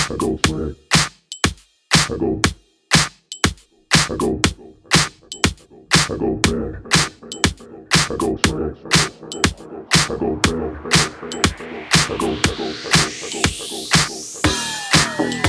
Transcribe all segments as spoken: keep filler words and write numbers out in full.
I go swag. I go. I go. I go back. I go swag. I go back. I go. I go. I go. I go.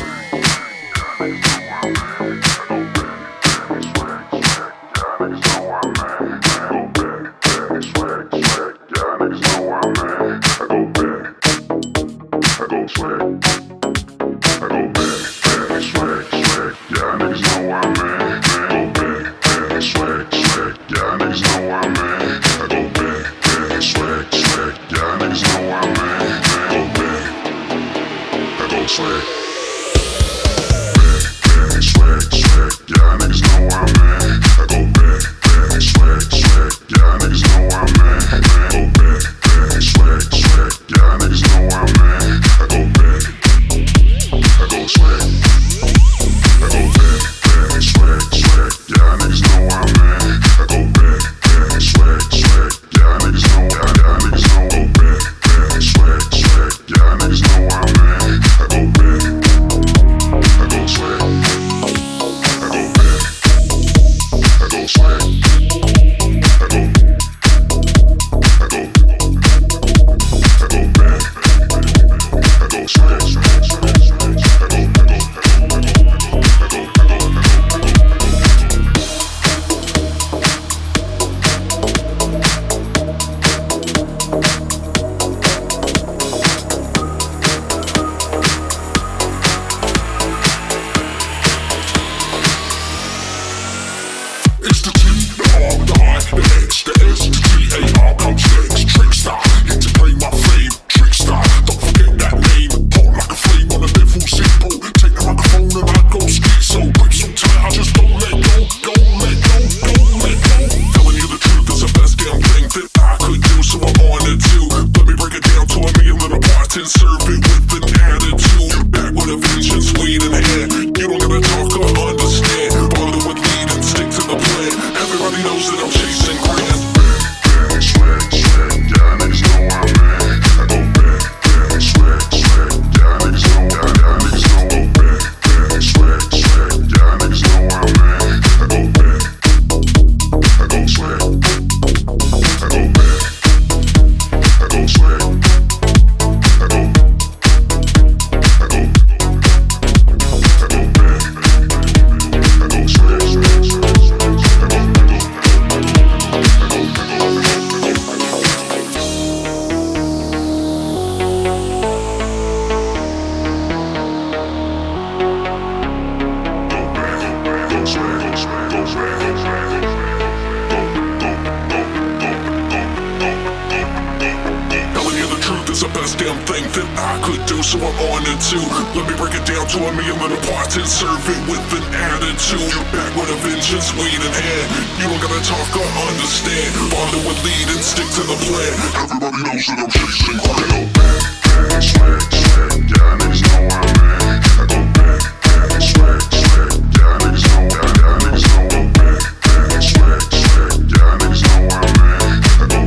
Damn thing that I could do, so I'm on it too. Let me break it down to a million little parts and serve it with an attitude. You're back with a vengeance, weed in hand. You don't gotta talk or understand. Follow with lead and stick to the plan. Everybody knows that I'm chasing crack. Back, swag, swag, yeah, niggas know I'm mad. I go back, back, swag, swag, yeah, niggas know, yeah, yeah, niggas know I'm back, back, swag, swag, yeah, niggas know I'm mad. I go,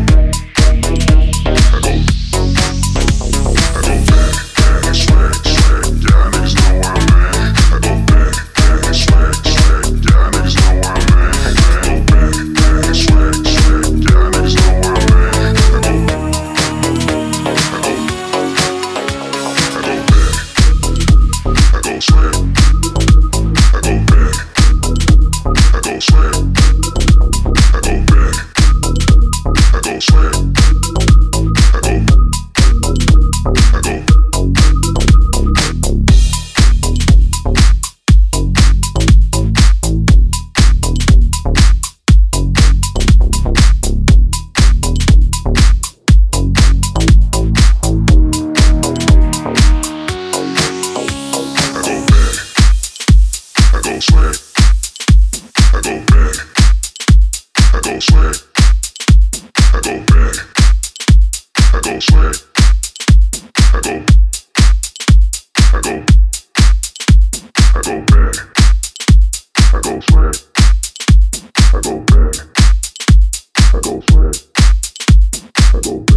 I go. I go back. I go swag. I go